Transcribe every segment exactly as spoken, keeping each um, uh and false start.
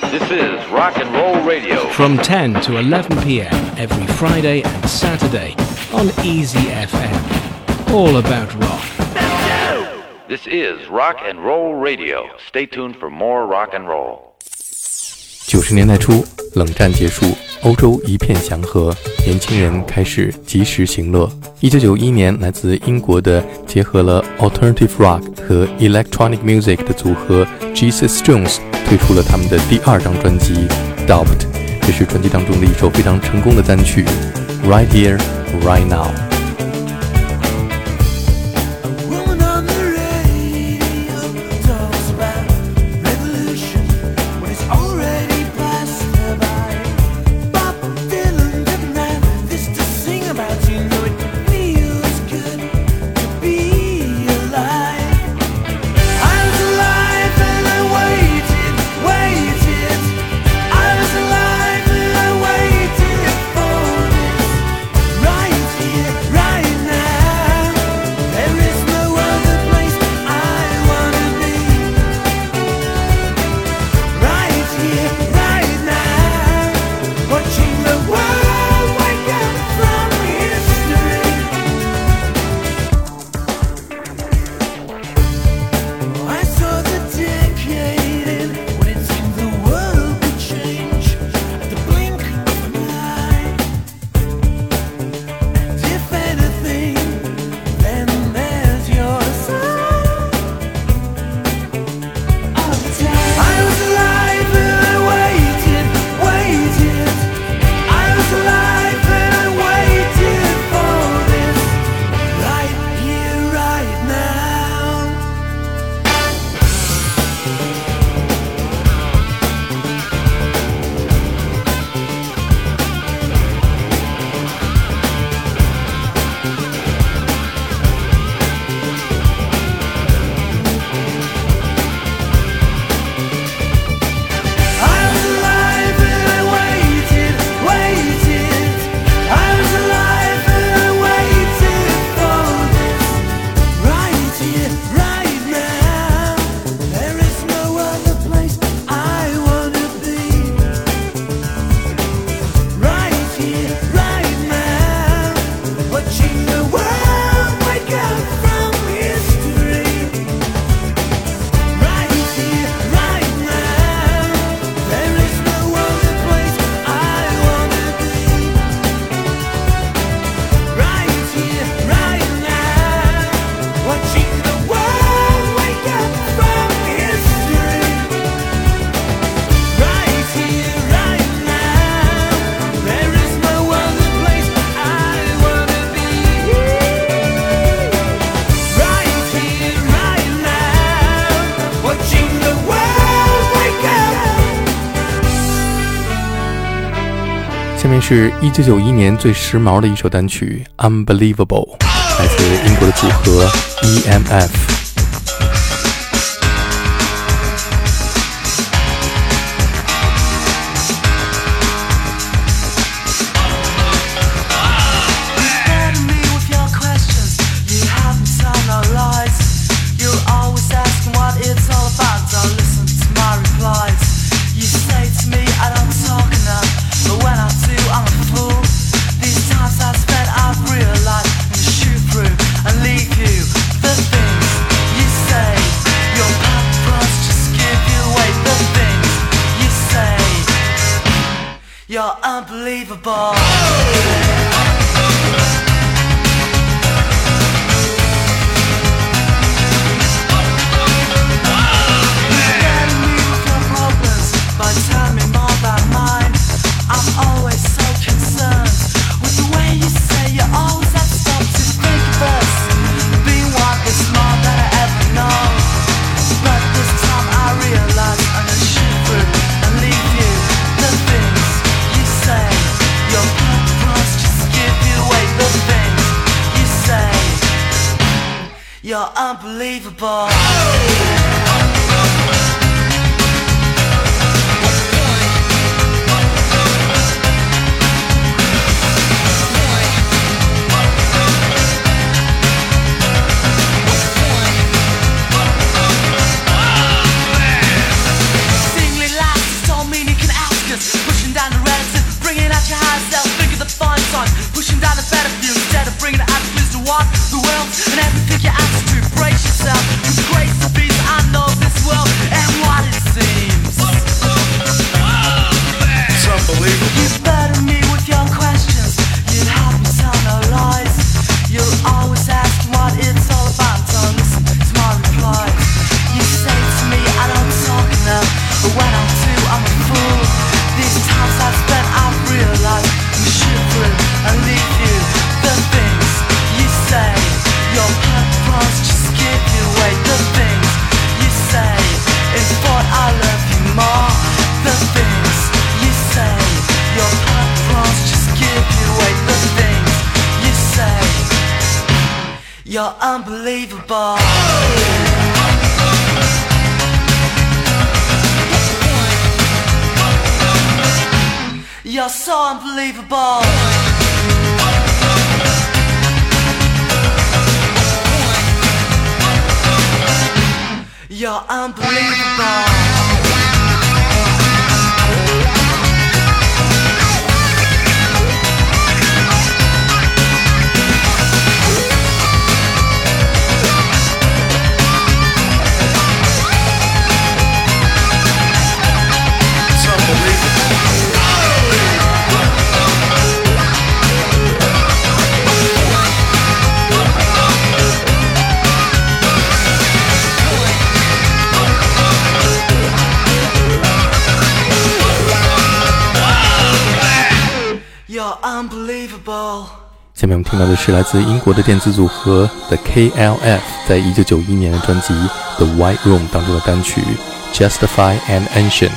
This is Rock and Roll Radio. From ten to eleven p.m. every Friday and Saturday on Easy F M. All about rock. This is Rock and Roll Radio. Stay tuned for more rock and roll. 九十年代初，冷战结束，欧洲一片祥和，年轻人开始及时行乐。一九九一年，来自英国的结合了 Alternative Rock 和 Electronic Music 的组合 Jesus Jones 推出了他们的第二张专辑 Doubt， 这是专辑当中的一首非常成功的单曲 Right Here, Right Now。下面是一九九一年最时髦的一首单曲 Unbelievable， 来自英国的组合 E M F。 You're unbelievable. You're unbelievable. Singly lies told me sun, pushing down a better view instead of bringing attitudes to what the world and everything you ask to brace yourself. You grace the beast, I know this world and what it seems. It's unbelievable. You burden me with your questions. You help me tell no lies. You'll always ask what it's all about. So listen to my replies. You say to me I don't talk enough, but when I do I'm a fool. These times I've spent I've realized I'm shivering and leave you. The things you say, your purpose just give you away. The things you say, in thought I love you more. The things you say, your purpose just give you away. The things you say, you're unbelievable. You're so unbelievable. You're unbelievable. Unbelievable。 下面我们听到的是来自英国的电子组合 The K L F 在一九九一年的专辑 The White Room 当中的单曲 Justify and Ancient。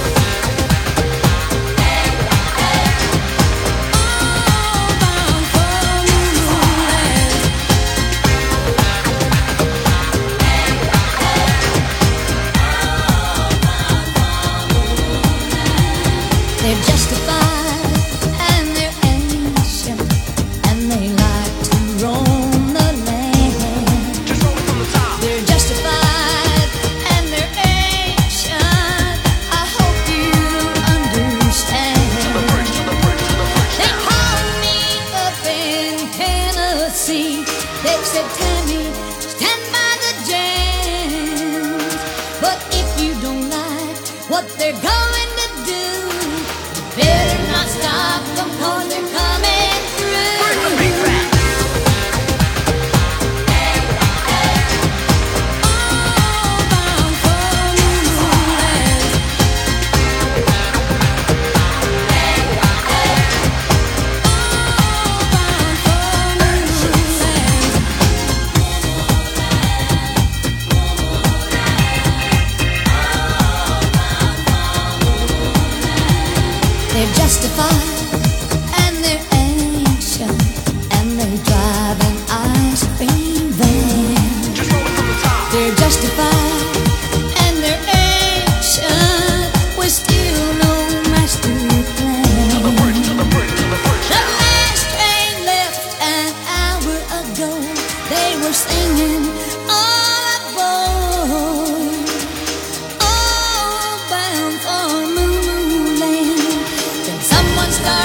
They're justified and they're ancient and they drive an ice cream van. They're justified and they're ancient with still no master plan. The last train left an hour ago. They were singing all aboard, all bound for Moon Land. Then someone started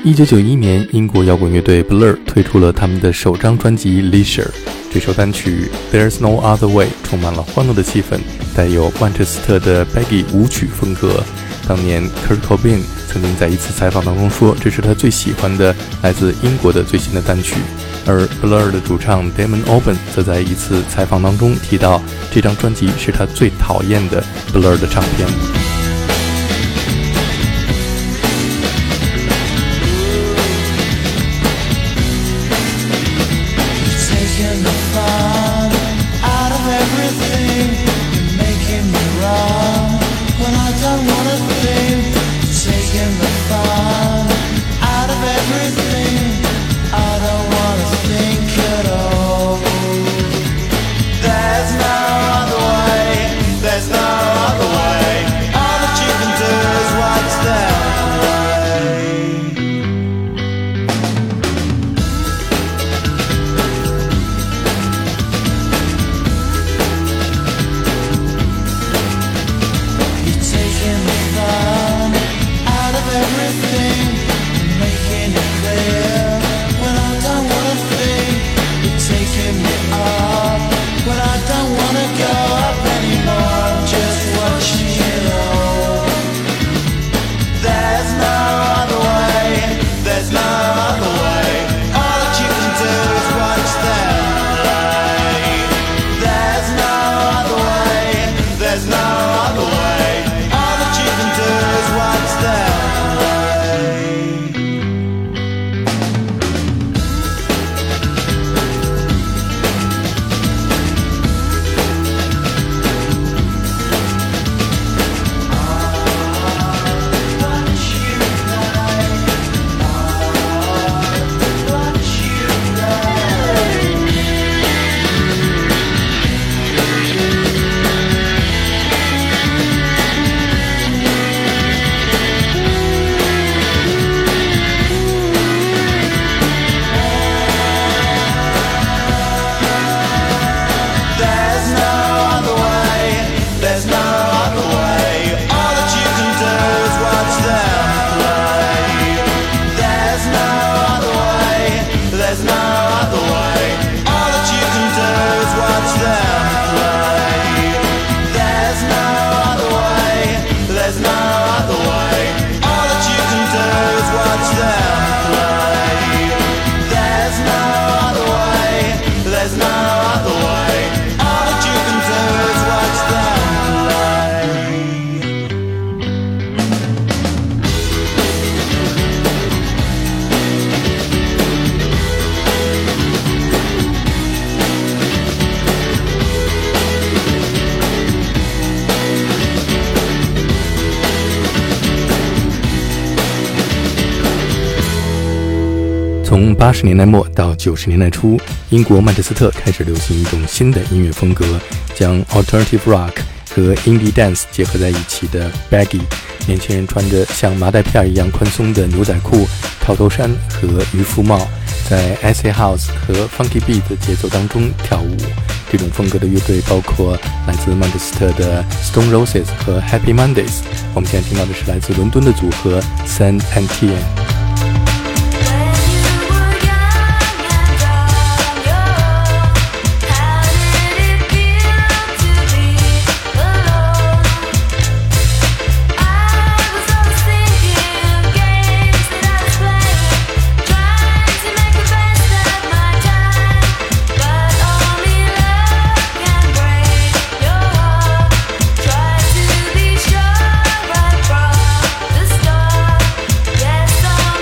一九九一年，英国摇滚乐队 Blur 推出了他们的首张专辑 Leisure。这首单曲 There's No Other Way 充满了欢乐的气氛，带有曼彻斯特的 Baggy 舞曲风格。当年 Kurt Cobain 曾经在一次采访当中说，这是他最喜欢的来自英国的最新的单曲。而 Blur 的主唱 Damon Albarn 则在一次采访当中提到，这张专辑是他最讨厌的 Blur 的唱片。从八十年代末到九十年代初，英国曼彻斯特开始流行一种新的音乐风格，将 Alternative Rock 和 Indie Dance 结合在一起的 Baggy。年轻人穿着像麻袋片一样宽松的牛仔裤、套头衫和渔夫帽，在 Acid House 和 Funky Beat 的节奏当中跳舞。这种风格的乐队包括来自曼彻斯特的 Stone Roses 和 Happy Mondays。我们现在听到的是来自伦敦的组合 Sand and Tea。 Yes,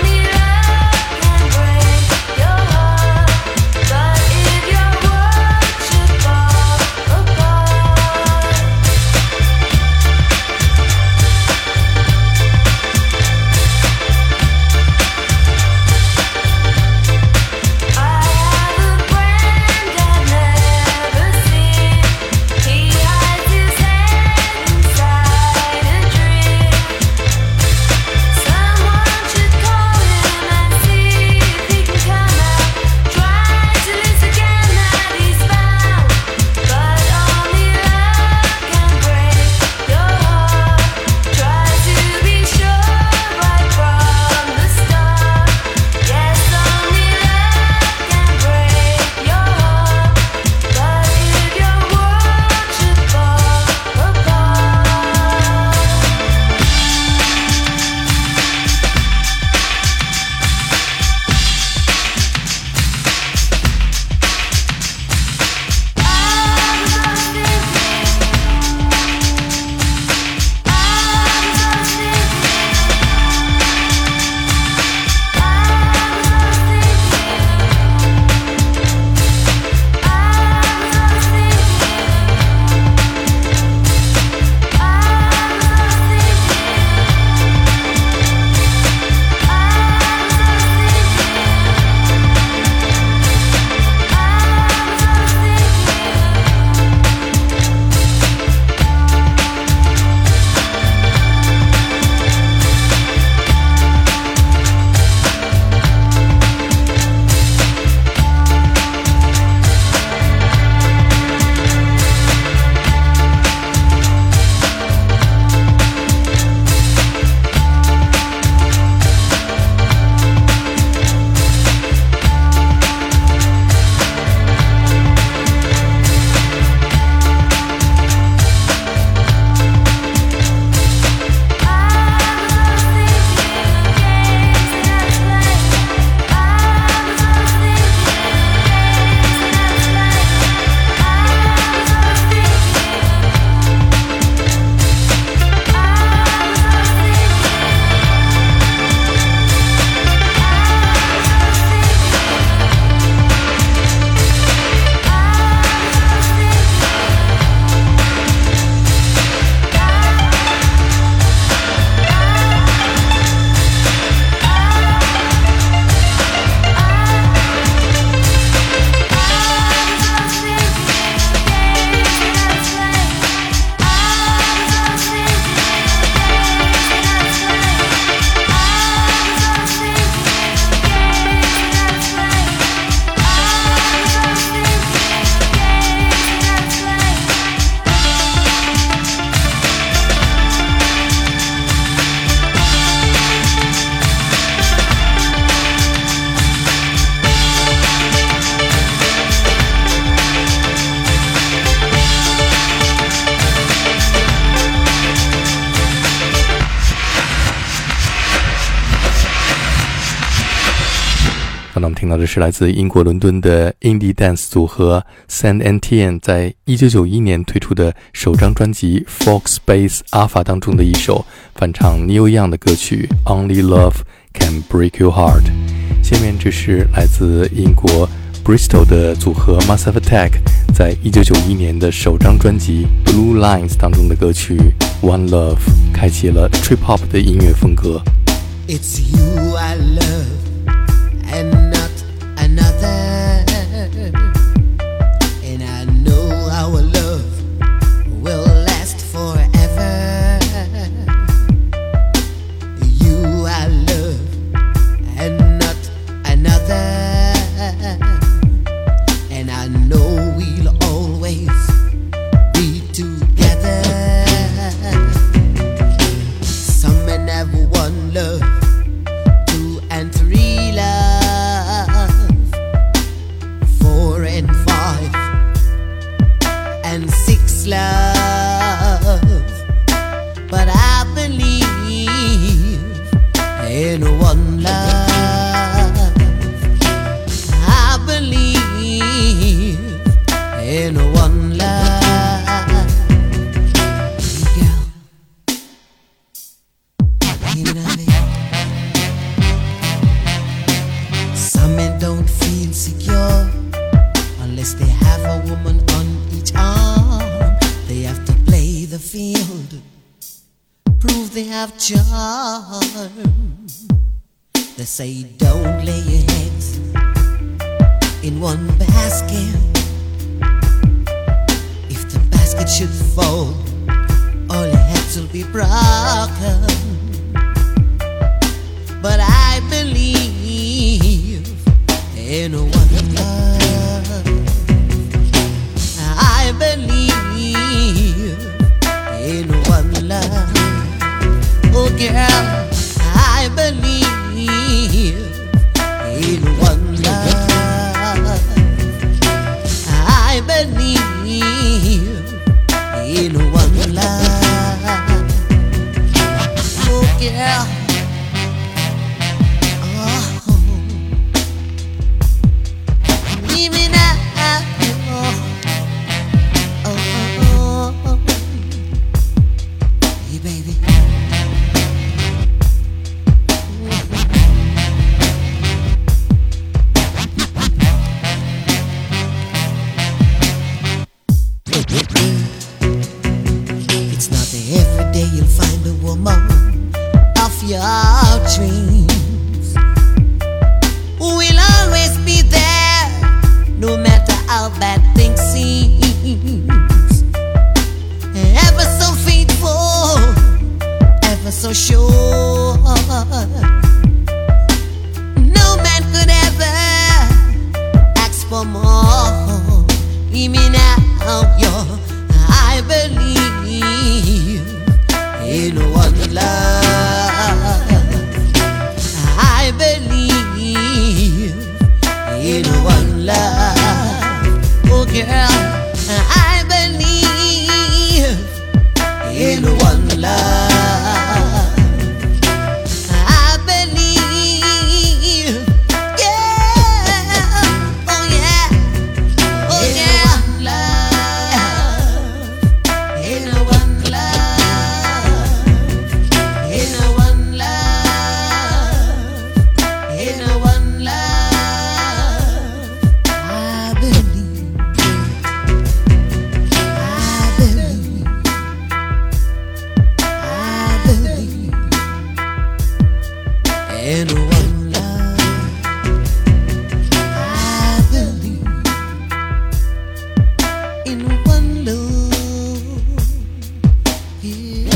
那我们听到的是来自英国伦敦的 Indie Dance 组合 Sand and Tien 在一九九一年推出的首张专辑 Folk Space Alpha 当中的一首翻唱 Neil Young 的歌曲 Only Love Can Break Your Heart。 下面这是来自英国 Bristol 的组合 Massive Attack 在一九九一年的首张专辑 Blue Lines 当中的歌曲 One Love， 开启了 Trip Hop 的音乐风格。 It's you I love and not another, and I know our love will last forever. You I love and not another, and I know we'll always be together. Some men have one love, two and three love, four and five and six love, but I believe in one love. I believe in one love. Girl, you know me. Some men don't feel secure unless they have a woman on each arm. They have to play the field, prove they have charm. They say don't lay your heads in one basket. If the basket should fall, all your heads will be broken. But I believe in one love. I believe in one love. Oh girl, I believe in one love. I believe in one love. Oh girl, oh, leave me now. Oh, oh, oh, hey baby. It's not every day you'll find a woman of your dreams who will always be there, no matter how bad things seem. Ever so faithful, ever so sure. No man could ever ask for more. Leave me now, yo. I believe in one love. I believe in one love. Oh girl, I believe in one love. I believe, yeah, oh yeah, oh yeah, in one love, in one love, in one love. I believe, I believe, I believe in one love. I believe in one love. Yeah.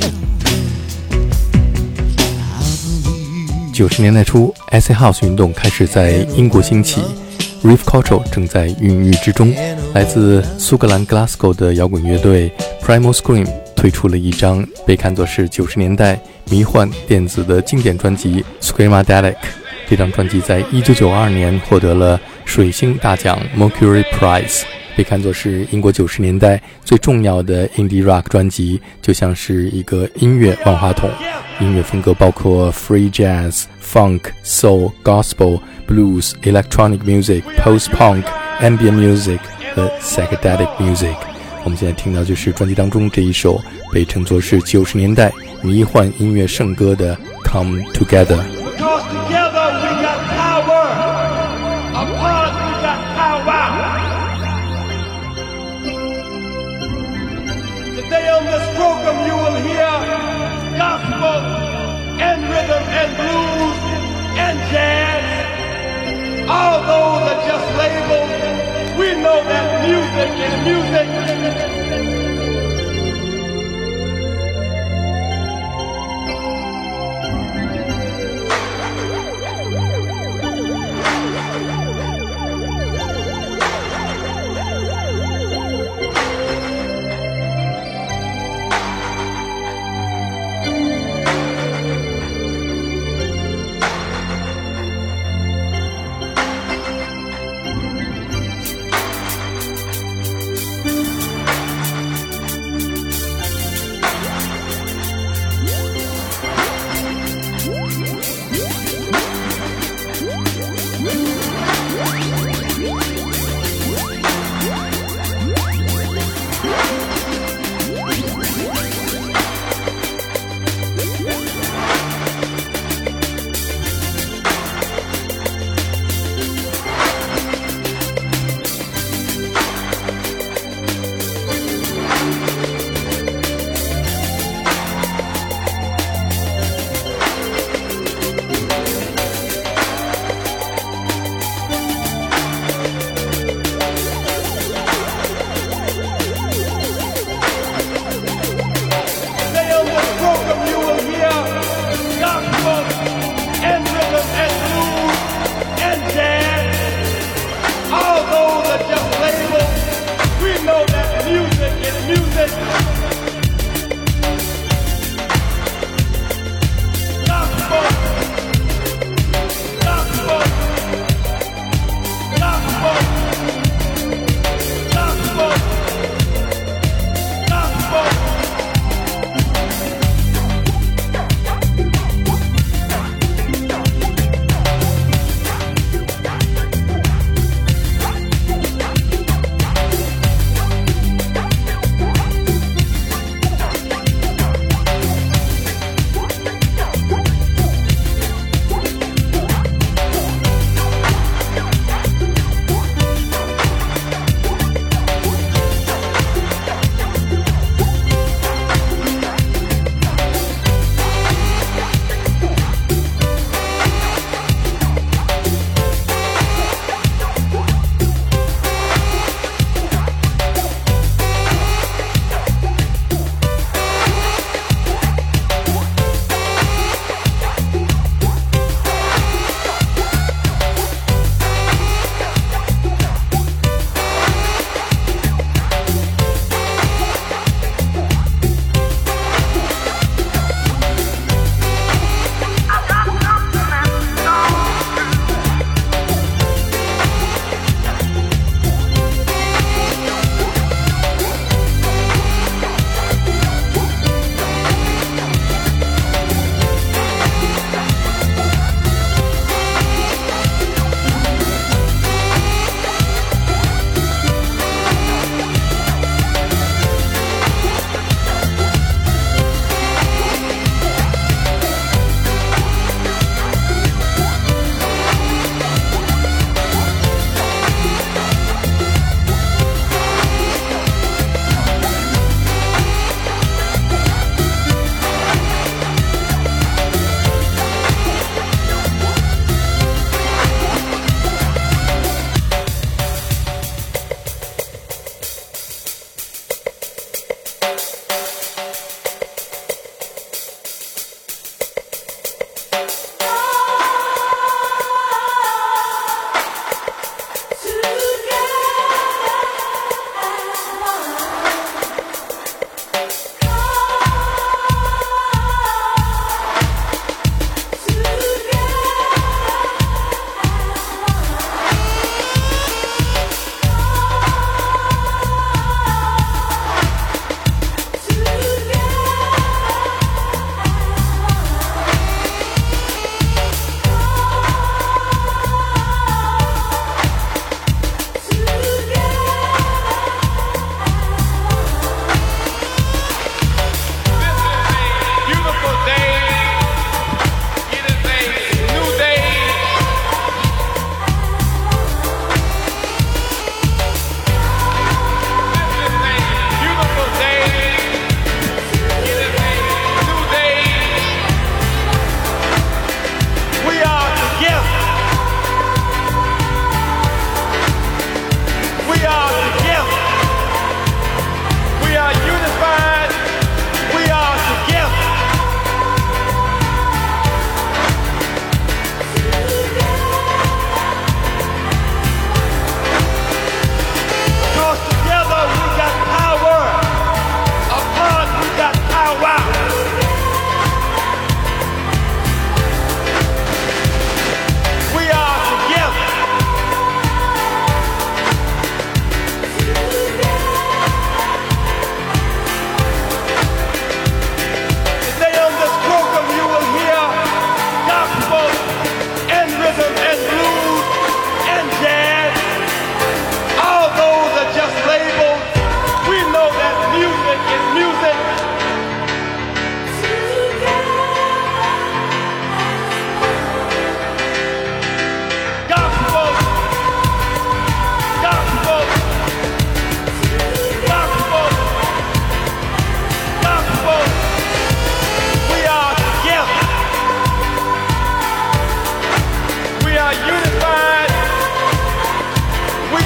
I believe. 九十年代初 Acid House 运动开始在英国兴起， Rave Culture 正在孕育之中。来自苏格兰 Glasgow 的摇滚乐队 Primal Scream 推出了一张被看作是九十年代迷幻电子的经典专辑 Screamadelic。 这张专辑在一九九二年获得了水星大奖 Mercury Prize， 被看作是英国九十年代最重要的 indie rock 专辑，就像是一个音乐万花筒。音乐风格包括 free jazz, funk, soul, gospel, blues, electronic music, post-punk, ambient music 和 psychedelic music。我们现在听到就是专辑当中这一首被称作是九十年代迷幻音乐圣歌的 Come Together。Because together we got power, apart we got power. Today on this program you will hear gospel and rhythm and blues and jazz. All those are just labels. We know that music is music.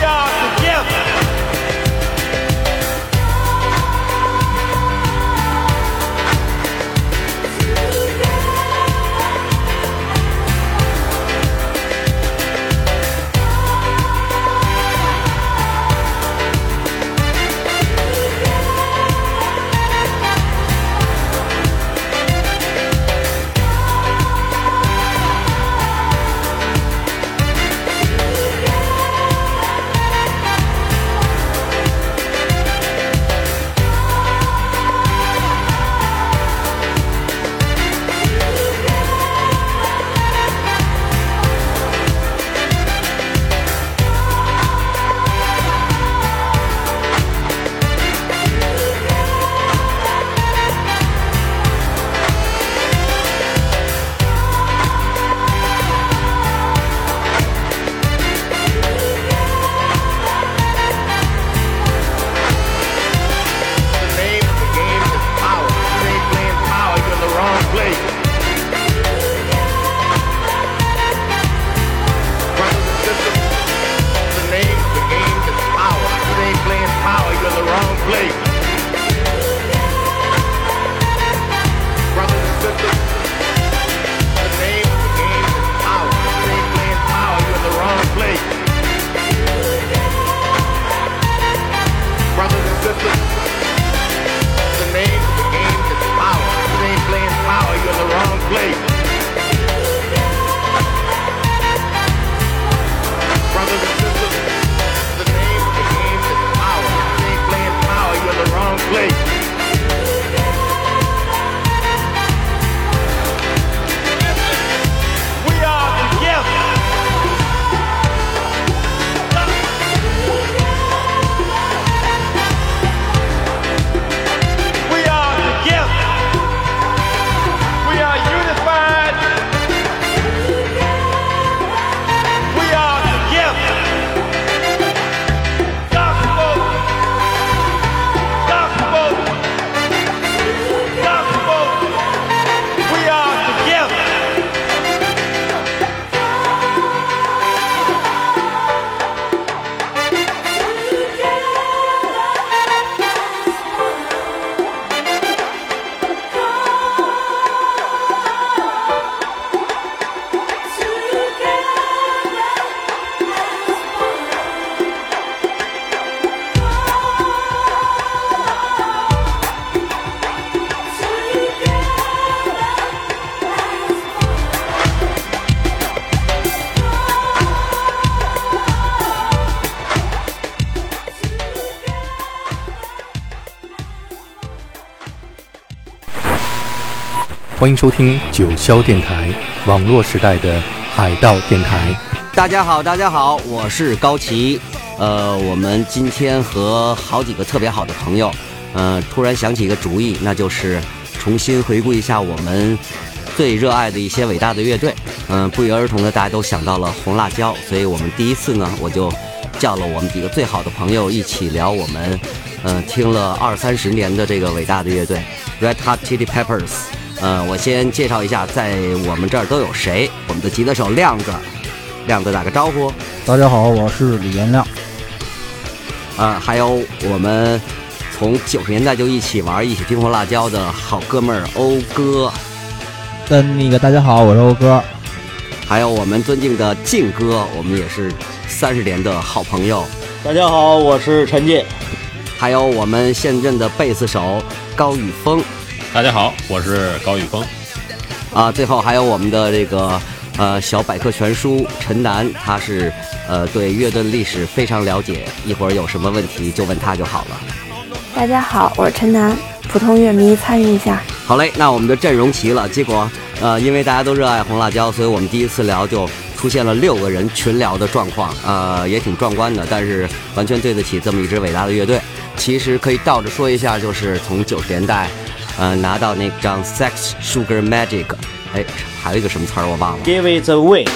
欢迎收听九霄电台，网络时代的海盗电台。 大家好，大家好，我是高奇。呃，我们今天和好几个特别好的朋友，呃，突然想起一个主意，那就是重新回顾一下我们最热爱的一些伟大的乐队。嗯、呃，不约而同的，大家都想到了红辣椒，所以我们第一次呢，我就叫了我们几个最好的朋友一起聊我们，呃，听了二三十年的这个伟大的乐队 Red Hot Chili Peppers。呃，我先介绍一下，在我们这儿都有谁。我们的吉他手亮子，亮子打个招呼。 大家好，我是李延亮。 呃，还有我们从九十年代就一起玩、一起听红辣椒的好哥们儿欧哥。 跟那个大家好，我是欧哥。 还有我们尊敬的靖哥，我们也是三十年的好朋友。 大家好，我是陈进。 还有我们现任的贝斯手高宇峰。 大家好，我是高宇峰。 啊，最后还有我们的这个呃小百科全书陈楠，他是呃对乐队的历史非常了解，一会儿有什么问题就问他就好了。 大家好，我是陈楠，普通乐迷参与一下。 好嘞，那我们的阵容齐了，结果呃因为大家都热爱红辣椒，所以我们第一次聊就出现了六个人群聊的状况，呃也挺壮观的，但是完全对得起这么一支伟大的乐队。其实可以倒着说一下，就是从九十年代呃，拿到那张 Sex Sugar Magic， 哎，还有一个什么词儿我忘了。 Give it away。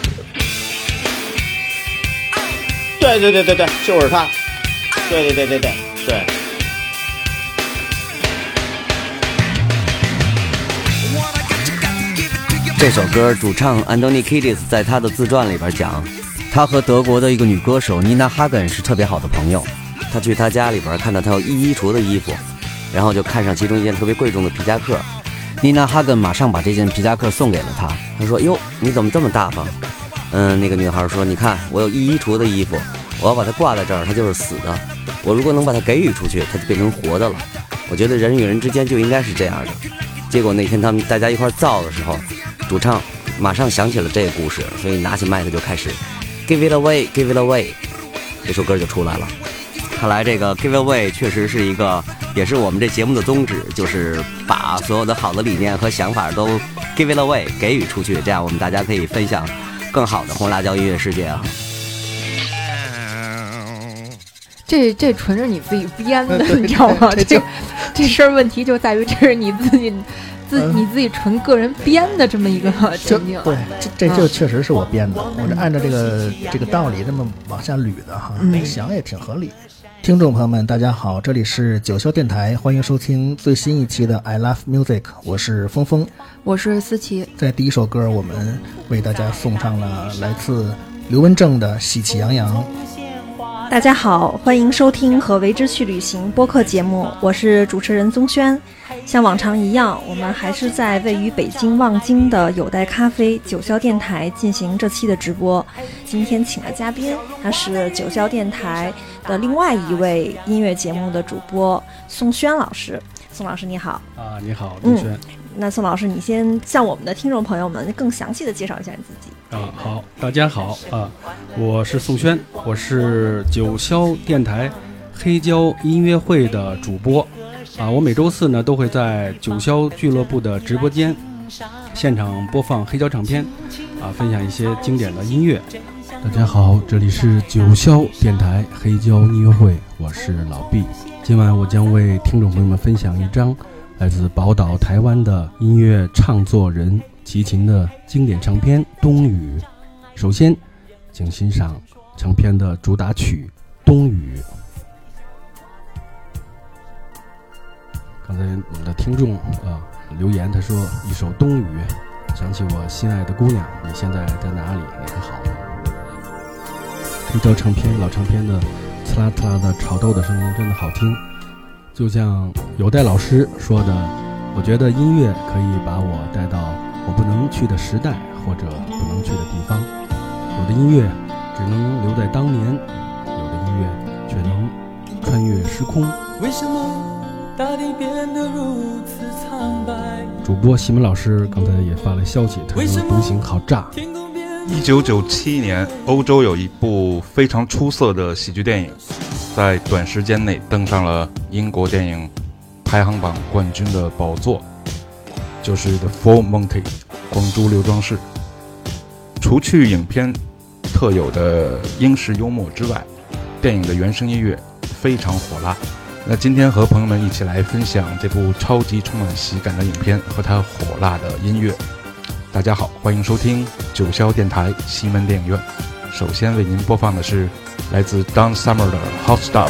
对对对对对，就是他。对对对对对对。 这首歌主唱 Anthony Kiedis 在他的自传里边讲， 他和德国的一个女歌手妮娜哈根是特别好的朋友。他去她家里边看到她有一衣橱的衣服，然后就看上其中一件特别贵重的皮夹克。妮娜哈根马上把这件皮夹克送给了他。他说：“哟，你怎么这么大方？”嗯，那个女孩说：“你看，我有一衣橱的衣服，我要把它挂在这儿，它就是死的。我如果能把它给予出去，它就变成活的了。我觉得人与人之间就应该是这样的。”结果那天他们大家一块造的时候，主唱马上想起了这个故事，所以拿起麦克就开始 Give it away, Give it away， 这首歌就出来了。看来这个 Give it away 确实是一个，也是我们这节目的宗旨，就是把所有的好的理念和想法都 Give it away 给予出去，这样我们大家可以分享更好的红辣椒音乐世界啊。 这这纯是你自己编的，你知道吗？这这这事儿问题就在于这是你自己自你自己纯个人编的这么一个情境。 对，这这就确实是我编的，我这按照这个这个道理这么往下捋的哈， 嗯、 想也挺合理。听众朋友们，大家好，这里是九霄电台，欢迎收听最新一期的 I Love Music， 我是峰峰， 我是思琪。 在第一首歌，我们为大家送上了来自刘文正的《喜气洋洋》。 大家好，欢迎收听和为之去旅行播客节目，我是主持人宗轩。像往常一样，我们还是在位于北京望京的有待咖啡九霄电台进行这期的直播。今天请的嘉宾，他是九霄电台的另外一位音乐节目的主播宋轩老师。宋老师你好。 啊，你好，宗轩。 嗯，那宋老师，你先向我们的听众朋友们更详细的介绍一下你自己。 啊，好，大家好啊，我是宋轩，我是九霄电台黑胶音乐会的主播啊。我每周四呢都会在九霄俱乐部的直播间现场播放黑胶唱片啊，分享一些经典的音乐。大家好，这里是九霄电台黑胶音乐会，我是老毕。今晚我将为听众朋友们分享一张来自宝岛台湾的音乐唱作人齐秦的经典唱片《冬雨》。首先请欣赏唱片的主打曲《冬雨》。刚才我们的听众啊留言，他说一首《冬雨》想起我心爱的姑娘，你现在在哪里？你可好？黑胶唱片老唱片的刺啦刺啦的炒豆的声音真的好听，就像有代老师说的，我觉得音乐可以把我带到我不能去的时代或者不能去的地方。有的音乐只能留在当年，有的音乐却能穿越时空。为什么大地变得如此苍白？主播西门老师刚才也发来消息，他说独行好炸。 一九九七年，欧洲有一部非常出色的喜剧电影，在短时间内登上了英国电影排行榜冠军的宝座，就是《The Full Monty》光珠刘庄士。除去影片特有的英式幽默之外，电影的原声音乐非常火辣。那今天和朋友们一起来分享这部超级充满喜感的影片和它火辣的音乐。大家好，欢迎收听九霄电台西门电影院。首先为您播放的是来自 Don Summer 的 Hot Stuff。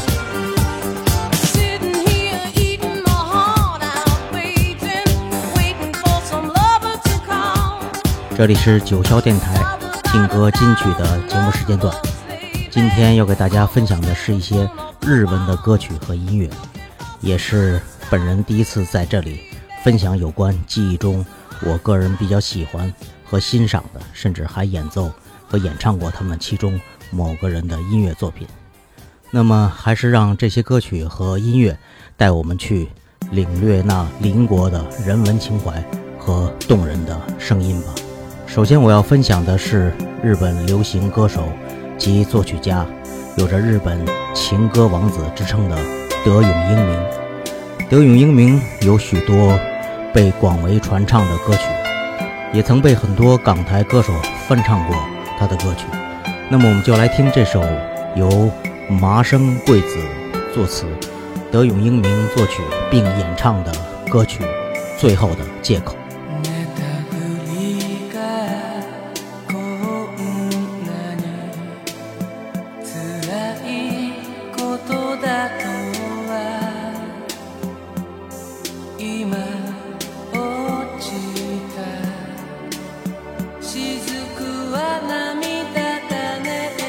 这里是九霄电台劲歌金曲的节目时间段，今天要给大家分享的是一些日文的歌曲和音乐，也是本人第一次在这里分享有关记忆中我个人比较喜欢和欣赏的，甚至还演奏和演唱过他们其中某个人的音乐作品。那么还是让这些歌曲和音乐带我们去领略那邻国的人文情怀和动人的声音吧。首先我要分享的是日本流行歌手及作曲家，有着日本情歌王子之称的德永英明。德永英明有许多被广为传唱的歌曲，也曾被很多港台歌手翻唱过他的歌曲。那么我们就来听这首由麻生贵子作词，德永英明作曲并演唱的歌曲《最后的借口》。 雫は涙種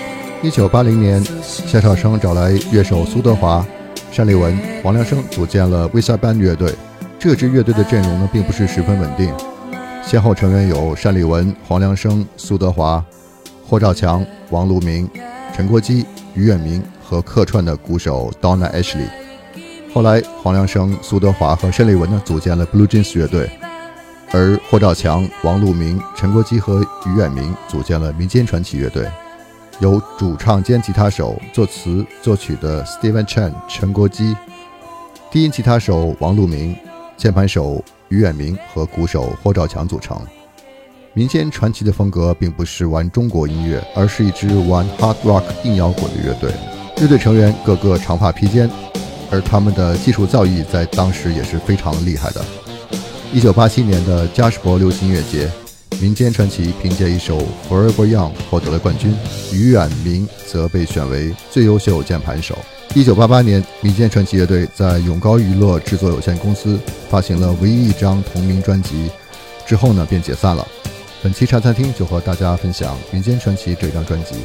一九八零年，夏少生找来乐手苏德华、单立文、黄良生组建了 Visa Band 乐队。这支乐队的阵容呢，并不是十分稳定，先后成员有单立文、黄良生、苏德华、霍兆强、王路明、陈国基、于远明和客串的鼓手 Donna Ashley。后来，黄良生、苏德华和单立文呢组建了 Blue Jeans 乐队，而霍兆强、王路明、陈国基和于远明组建了民间传奇乐队。由主唱兼吉他手、作词作曲的 Steven Chen 陈国基、低音吉他手王路明、键盘手于远明和鼓手霍兆强组成。民间传奇的风格并不是玩中国音乐，而是一支玩 hard rock 硬摇滚的乐队。乐队成员个个长发披肩，而他们的技术造诣在当时也是非常厉害的。一九八七年的加士伯流行音乐节，民间传奇凭借一首 Forever Young 获得了冠军，于远明则被选为最优秀键盘手。一九八八年，民间传奇乐队在永高娱乐制作有限公司发行了唯一一张同名专辑，之后呢便解散了。本期茶餐厅就和大家分享民间传奇这张专辑。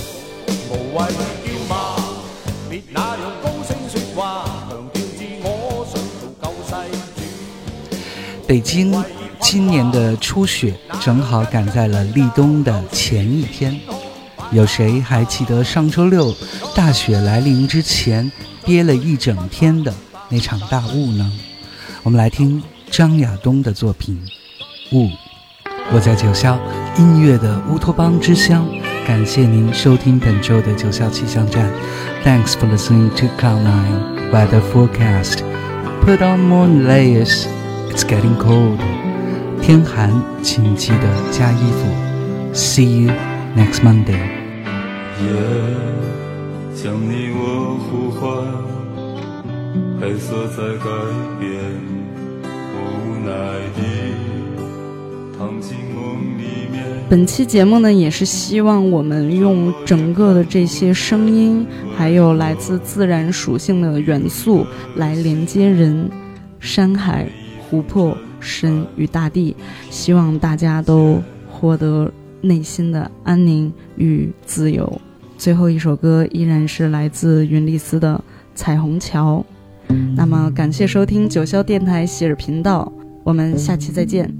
北京今年的初雪正好赶在了立冬的前一天，有谁还记得上周六大雪来临之前憋了一整天的那场大雾呢？我们来听张亚东的作品《雾》。我在九霄，音乐的乌托邦之乡，感谢您收听本周的九霄气象站。 Thanks for listening to Cloud nine Weather Forecast. Put on more layers, it's getting cold. 天寒请记得加衣服。 See you next Monday. 夜将你我呼唤，黑色在改变，无奈地躺进梦里面。 本期节目呢，也是希望我们用整个的这些声音，还有来自自然属性的元素来连接人、山海、湖泊、神与大地，希望大家都获得内心的安宁与自由。最后一首歌依然是来自云丽丝的彩虹桥。那么感谢收听九霄电台喜尔频道，我们下期再见。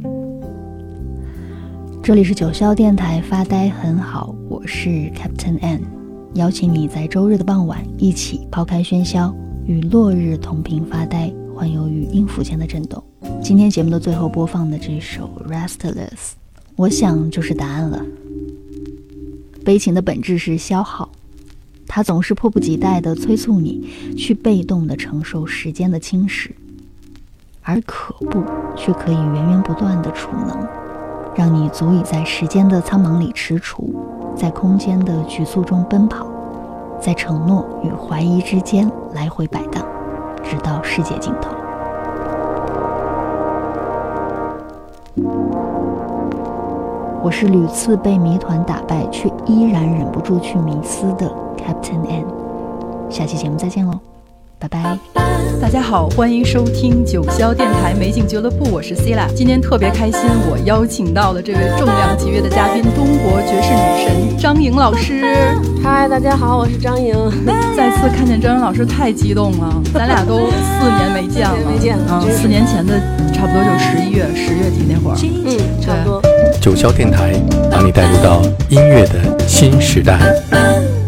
这里是九霄电台发呆很好，我是 Captain N， 邀请你在周日的傍晚一起抛开喧嚣，与落日同频发呆，环游于音符间的震动。今天节目的最后播放的这首 Restless， 我想就是答案了。悲情的本质是消耗，它总是迫不及待地催促你去被动地承受时间的侵蚀，而可怖却可以源源不断地储能，让你足以在时间的苍茫里踟蹰，在空间的局促中奔跑，在承诺与怀疑之间来回摆荡，直到世界尽头。我是屡次被谜团打败却依然忍不住去迷思的 Captain N， 下期节目再见喽，拜拜。 大家好，欢迎收听九霄电台美景俱乐部，我是 Cila。 今天特别开心，我邀请到了这位重量级别的嘉宾，中国爵士女神张颖老师。 嗨，大家好，我是张颖。 再次看见张颖老师太激动了，咱俩都四年没见了， 没见了、 嗯、四年前的差不多就十一月十月底那会儿， 嗯，差不多。 九霄电台把你带入到音乐的新时代。